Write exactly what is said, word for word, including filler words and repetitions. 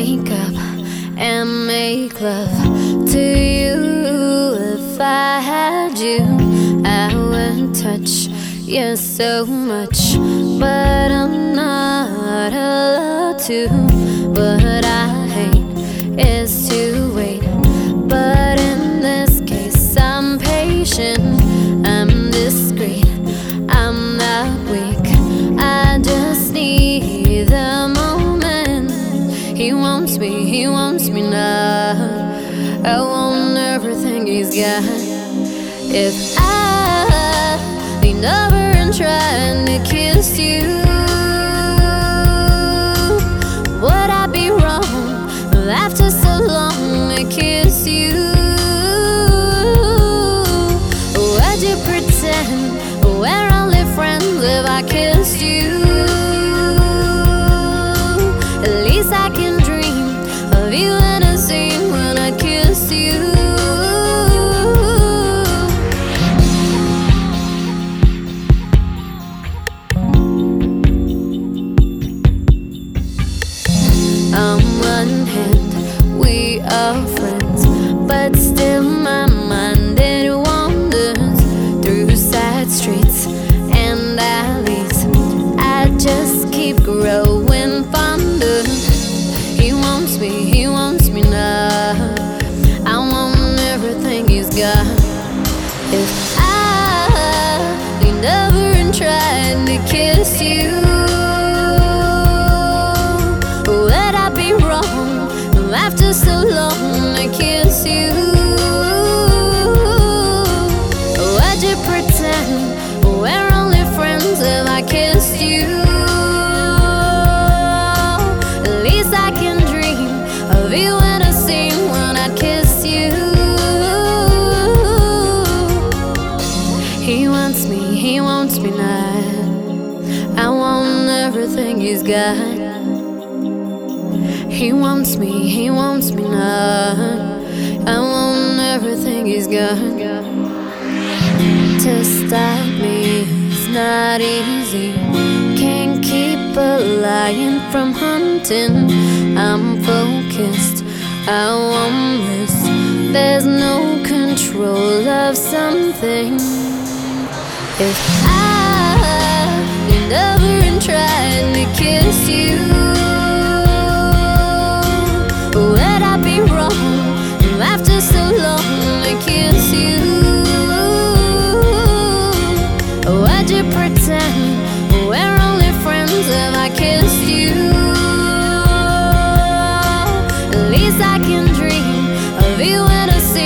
wake up and make love to you. If I had you, I would touch you so much, but I'm not allowed to. What I hate is to wait, but in this case I'm patient, I'm discreet, I'm not weak. I just need the moment. He wants me, he wants me now. I want everything he's got. If I leaned over and tried to kiss you, would I be wrong after so long to kiss you? Would you pretend we're only friends if I kissed you? At least I can dream of you in a scene when I kiss you. On one hand, we are friends, but still my mind it wanders through side streets and alleys. I just keep growing fonder. He wants me, he wants me now. I want everything he's got. If I leaned over and tried to kiss you, would I be wrong after so long to kiss you? Would you pretend we're only friends if I kissed you? At least I can dream of you in a scene when I kiss you. He wants me, he wants me now. I want everything he's got. He wants me, he wants me now. I want everything he's got. To stop me is not easy. Can't keep a lion from hunting. I'm focused, I won't miss. There's no control of something. If I leaned over and tried to kiss you, would I be wrong after so long to kiss you? Would you pretend we're only friends if I kissed you? At least I can dream of you in a